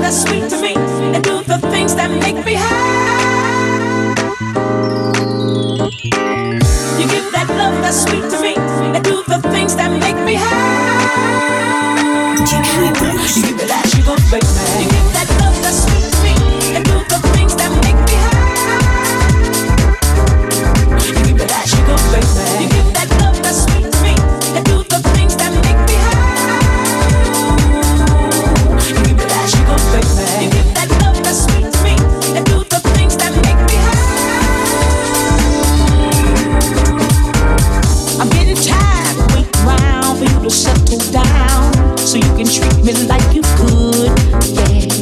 that's sweet to me and do the things that make me happy. You give that love that's sweet to me and do the things that make me happy. You give me that sugar, baby. You give that love that's sweet to me and do the things that make me happy. You give me that sugar, baby. You give that love that's sweet to me and do the things that make me happy. You give me that sugar, baby. You give that love that's sweet to me and do the things that make me happy. I'm getting tired of waiting around for you to settle down so you can treat me like you could, yeah.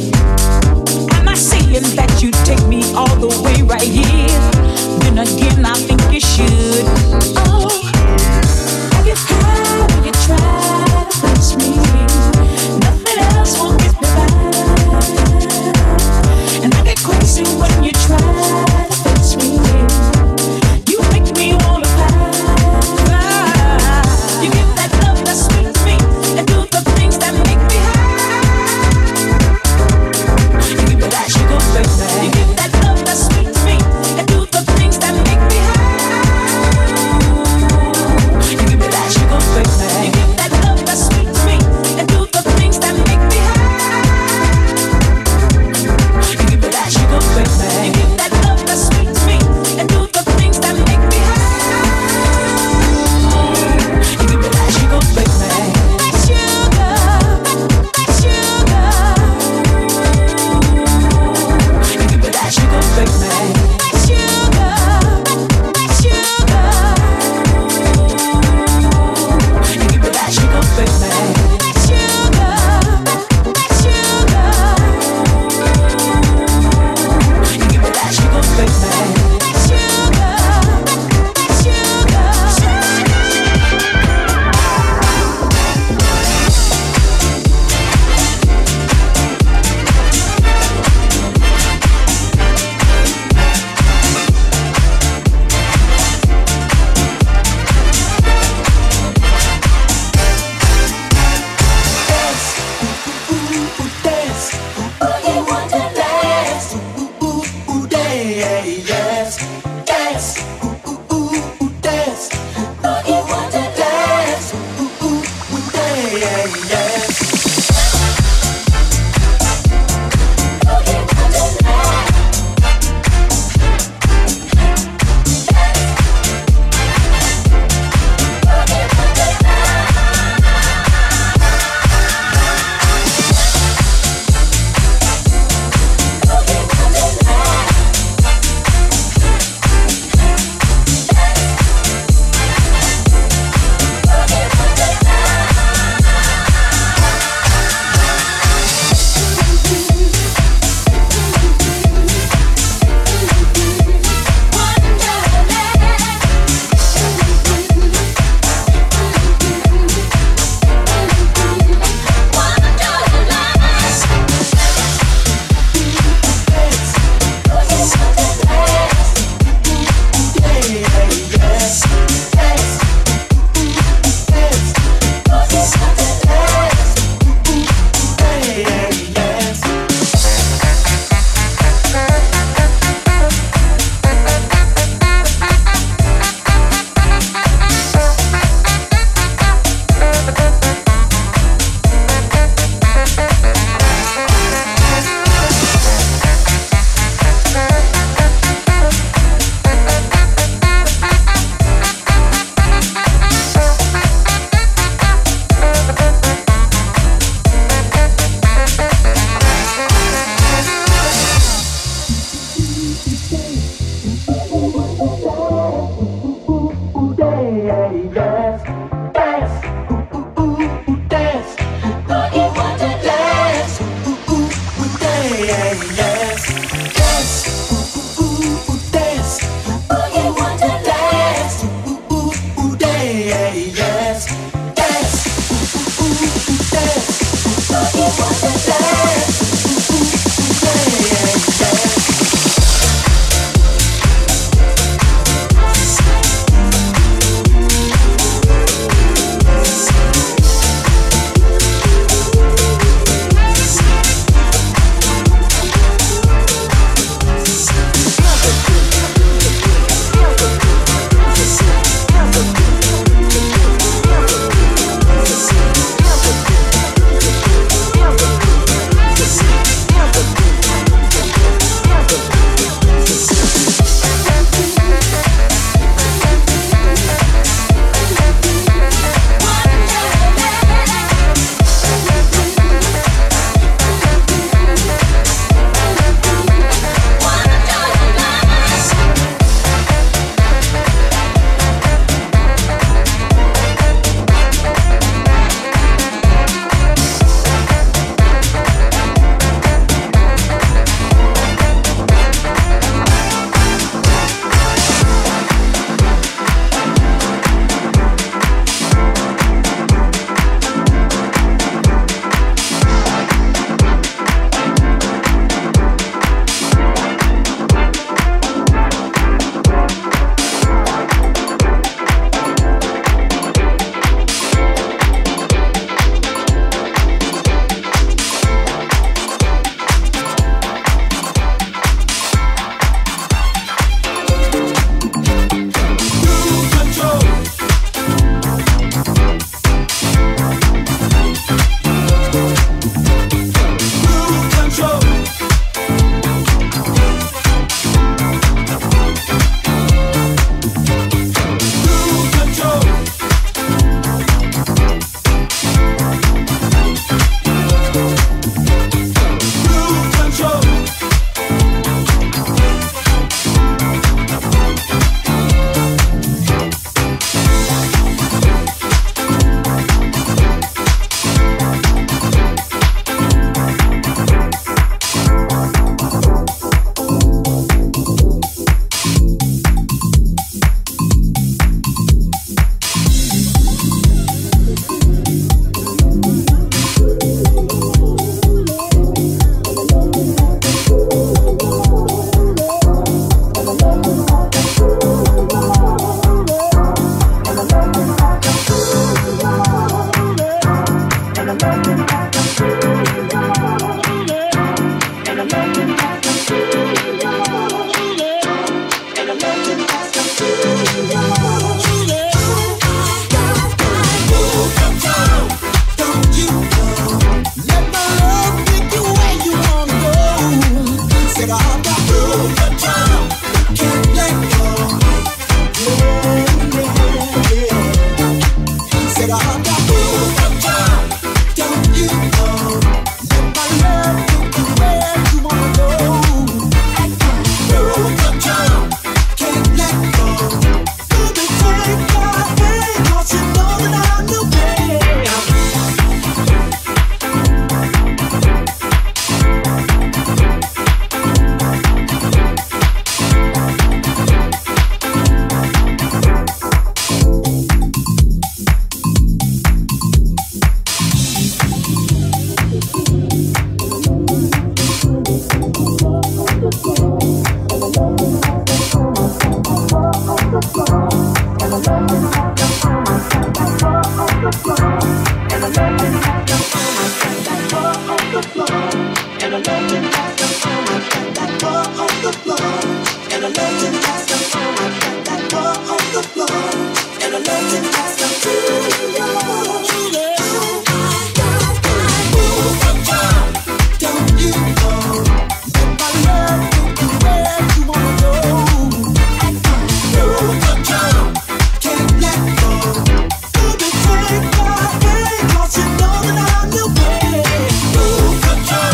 Control.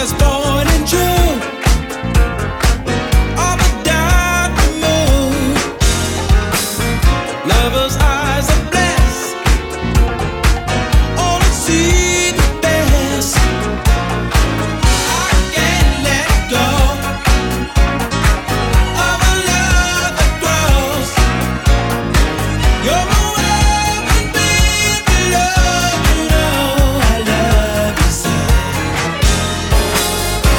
that's born and true of a diamond moon. Lover's eyes are blessed, only see the best. I can't let go of a love that grows. You're my world and baby, love, you know I love you so.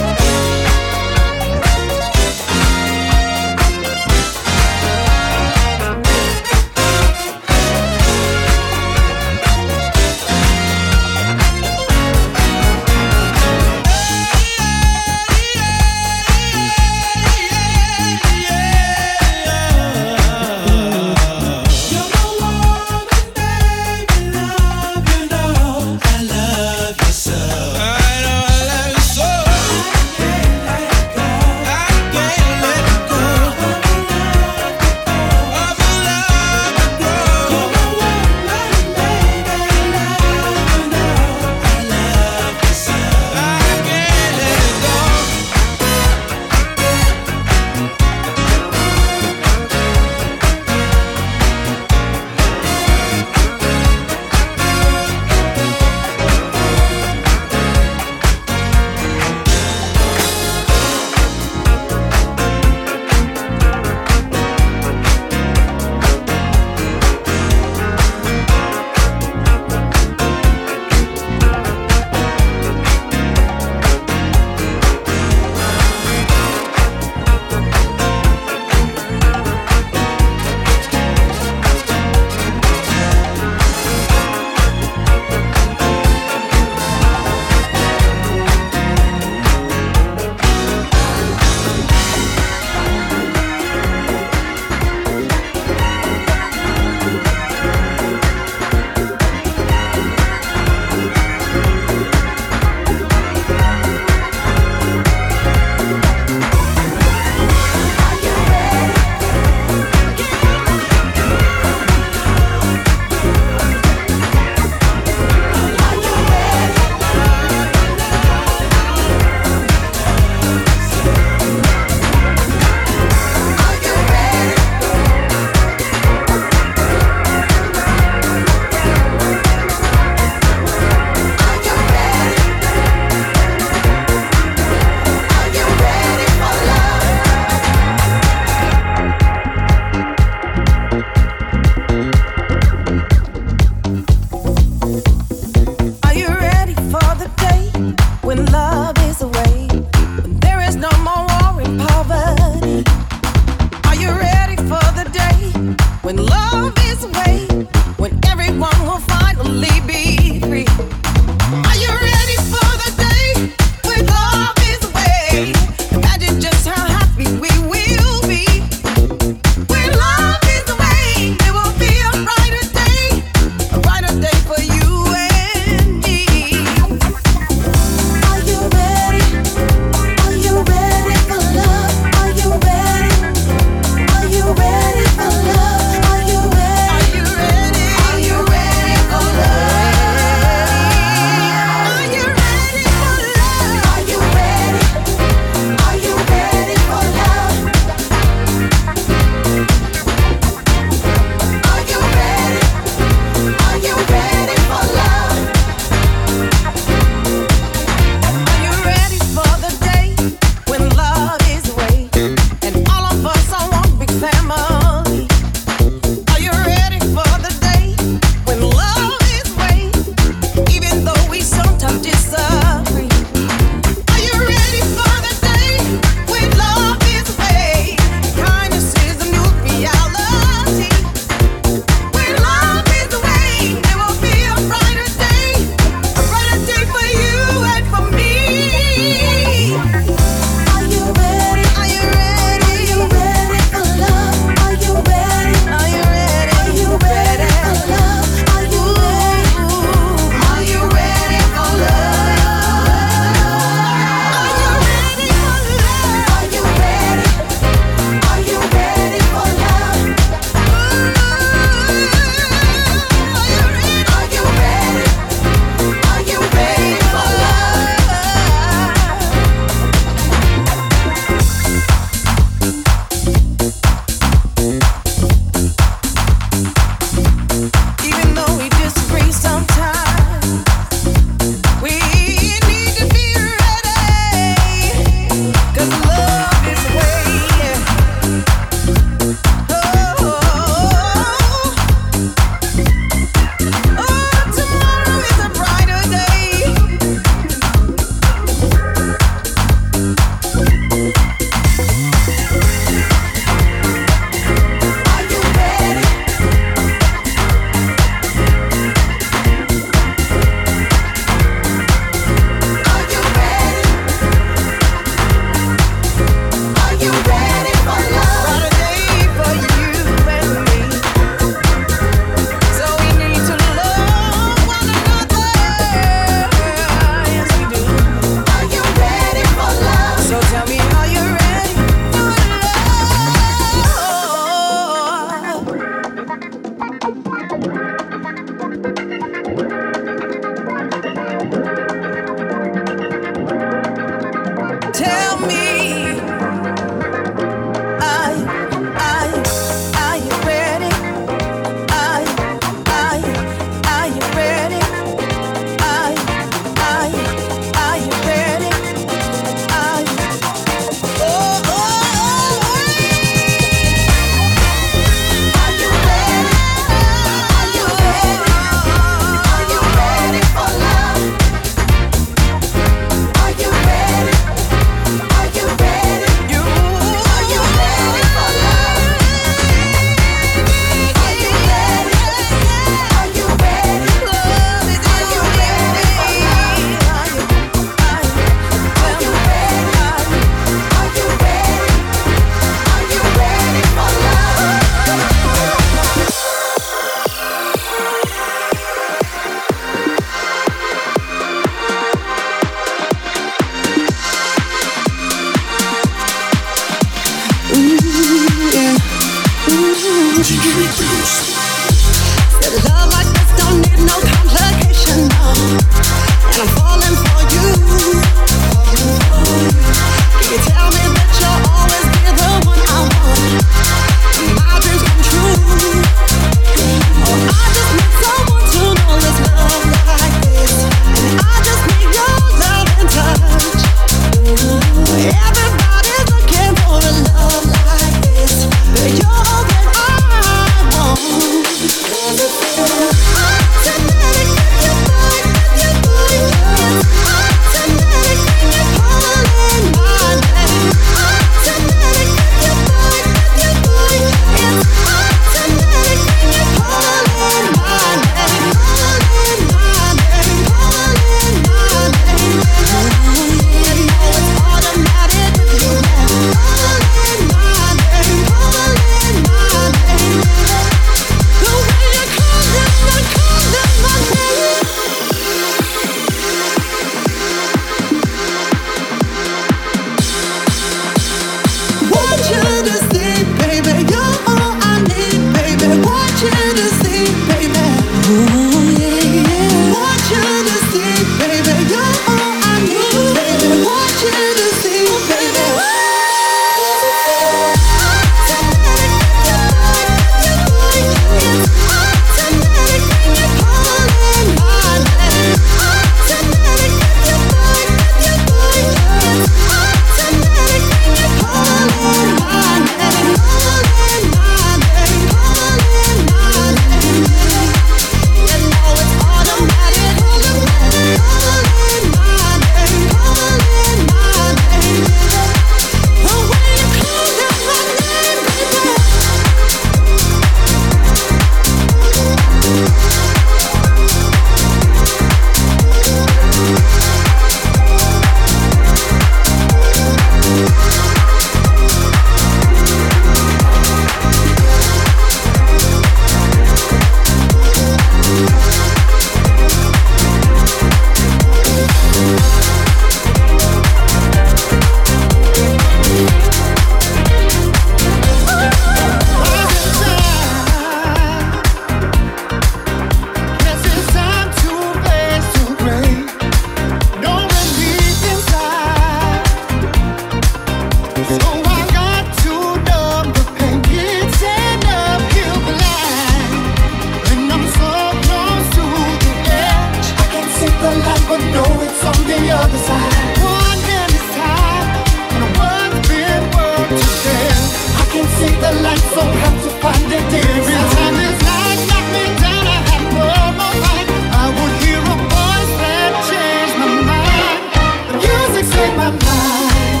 would know it's on the other side. One hand is tied, and one's been worked to death. I can't see the light, so have to find it every time this light knock me down. I have no more fight. I would hear a voice that changed my mind. The music saved my mind,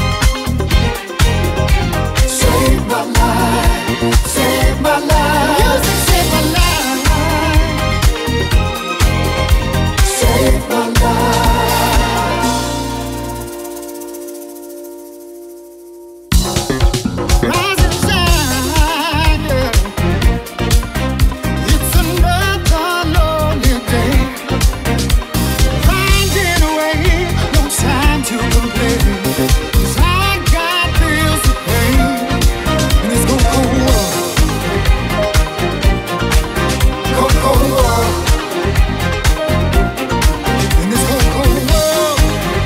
saved my life, saved my life. Music saved my life, saved my life. Rise and shine, yeah. It's another lonely day. Finding a way, no time to complain. 'Cause I got bills to pay in this cold, cold world. Cold, cold world. In this cold, cold world.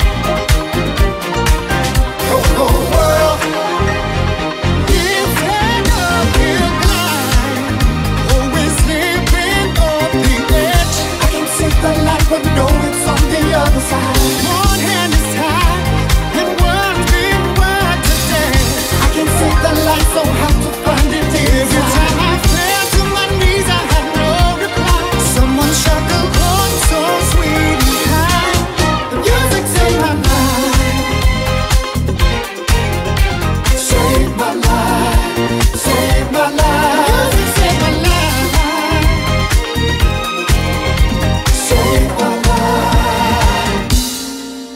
Cold, cold world. It's an uphill climb, always living on the edge. I can't see the light, but know it's on the other side. One hand is tied, and one's been worked to death. I can't see the light, so have to find it every time I fell to my knees. I had no reply. Someone struck a chord so sweet and kind. The music saved my life, saved my life, saved my life. Music saved my life, saved my life.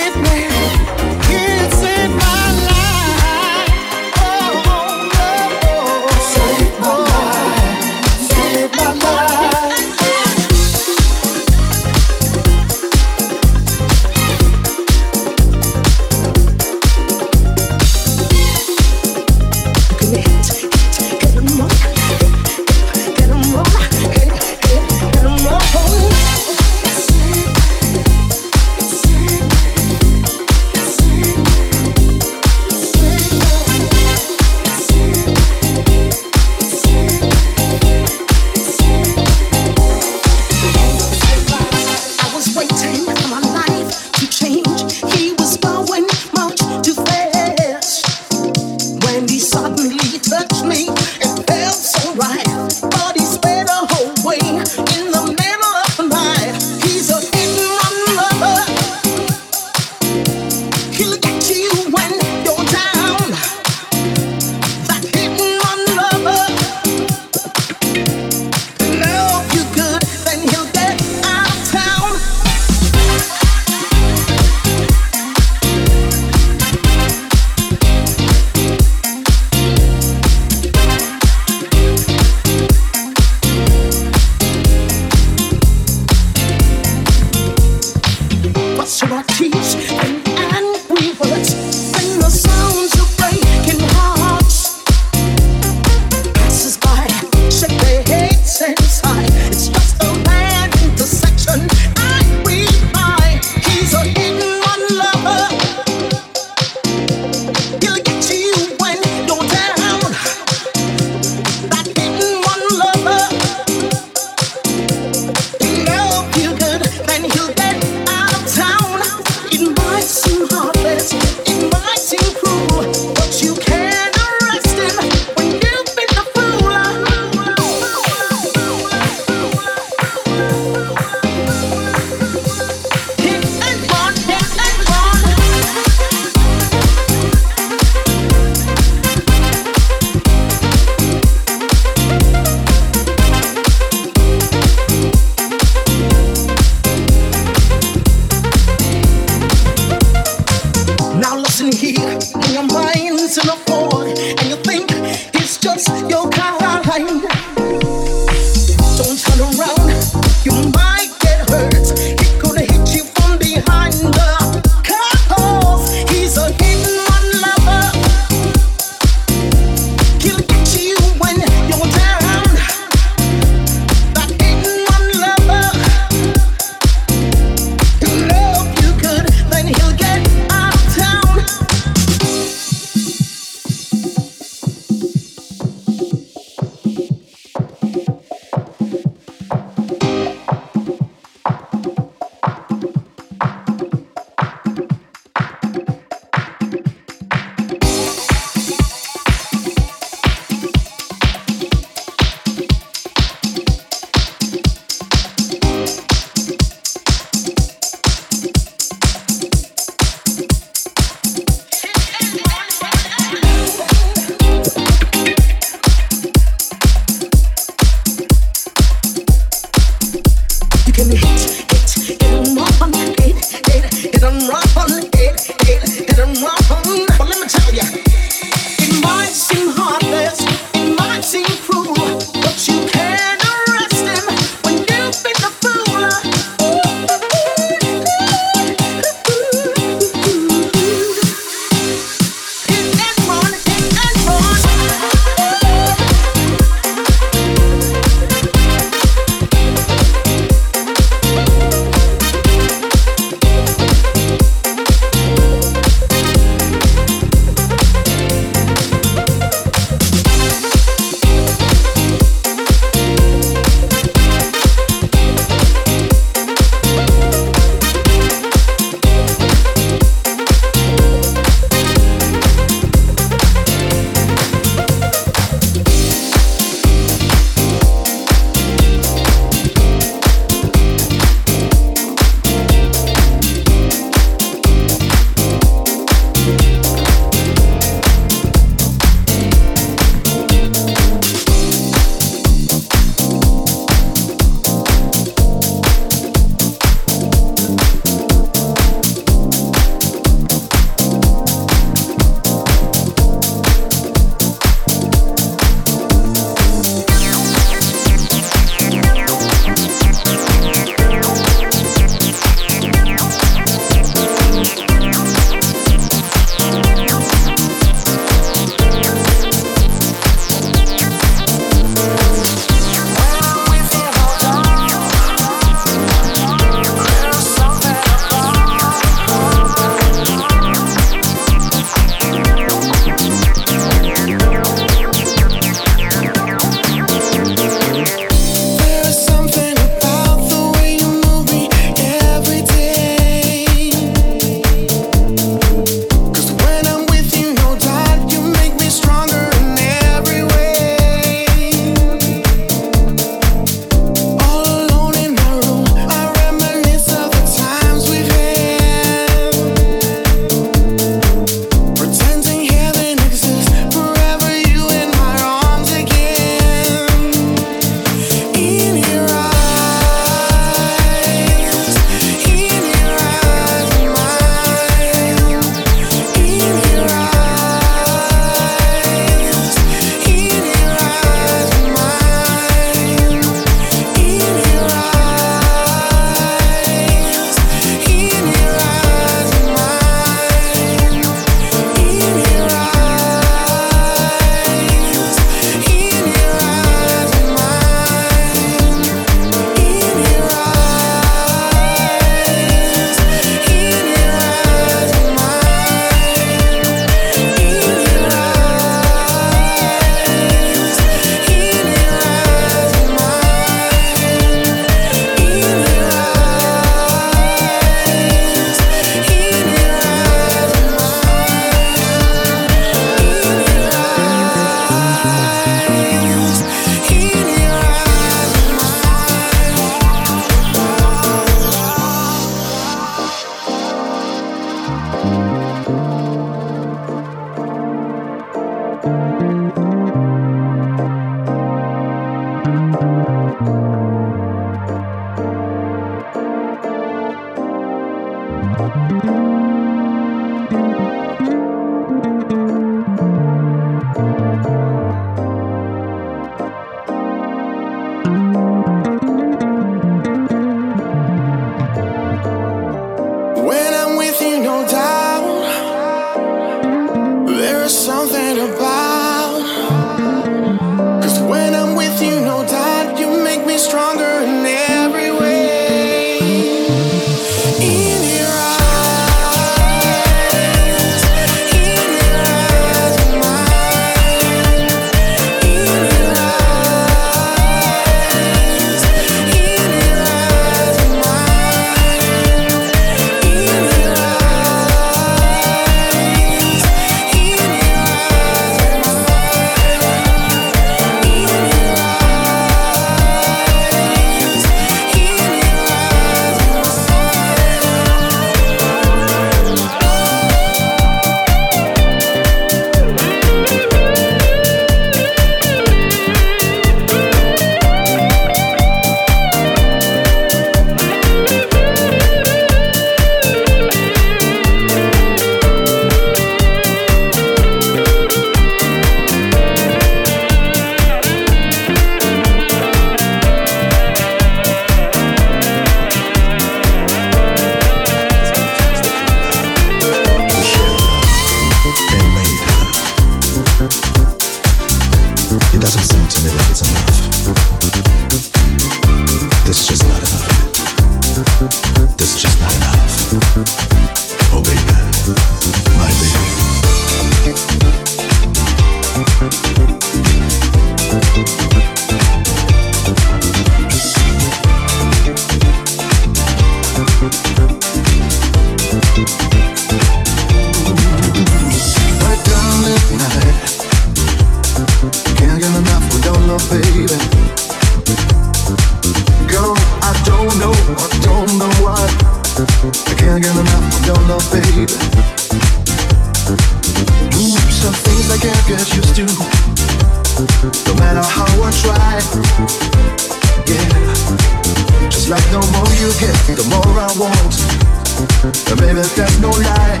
high. Yeah, just like the more you get, the more I want. And baby, that's no lie.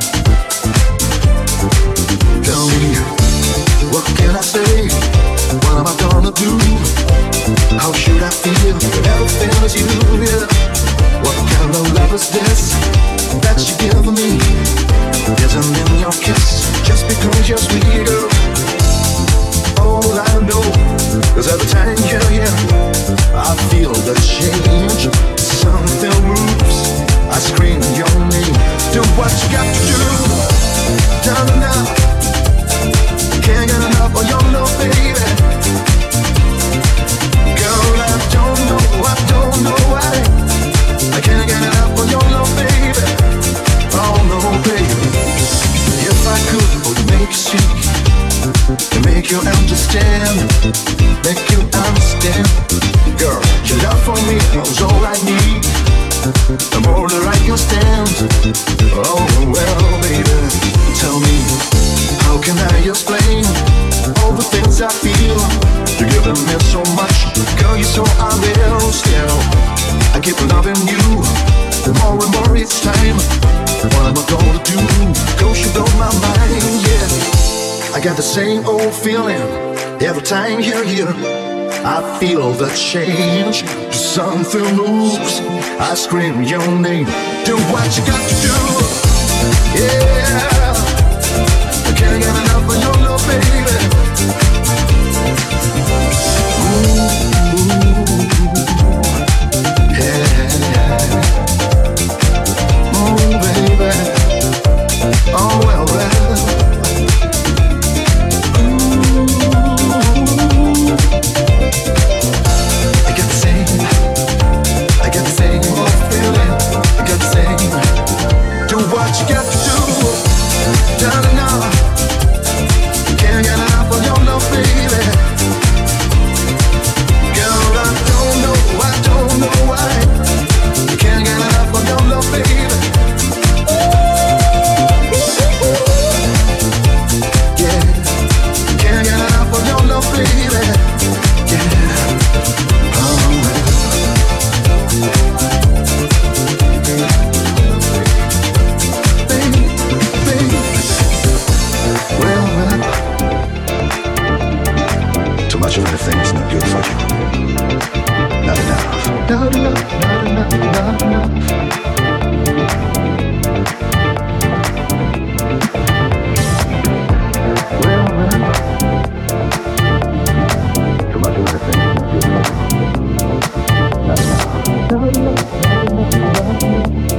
Tell me, what can I say? What am I gonna do? How should I feel? Everything is you, yeah. What kind of love is this that you give me? Isn't in your kiss just because you're sweet, girl. All I know is every time you're here, I feel the change. Something moves, I scream your name. Do what you got to do. Down now, can't get enough of your love, baby. Girl, I don't know why I can't get enough of your love, baby. Oh no, baby. If I could, I would make you see, to make you understand, make you understand. Girl, your love for me is all I need, the more that I can stand. Oh well, baby, tell me, how can I explain all the things I feel? You're giving me so much, girl, you're so unreal. Still, I keep loving you more and more each time. What am I gonna do? Cause you blow my mind, yeah. I got the same old feeling every time you're here. I feel the change, something moves, I scream your name. Do what you got to do, yeah. I can't get enough of your love, baby. Ooh, yeah. Oh, baby. Oh, well, well. What you got to do, darling, now can't get enough of your love, baby. Girl, I don't know why I can't get enough of your love, baby. Yeah, can't get enough of your love, baby. Yeah, oh, too much of anything is not good for you. Not enough. Not enough, not enough, not enough. Too much of anything is not good for you. Not enough. Not enough, not enough, not enough.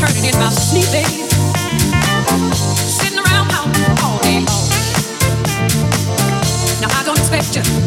worried about sleeping, sitting around out all day long. Now I don't expect you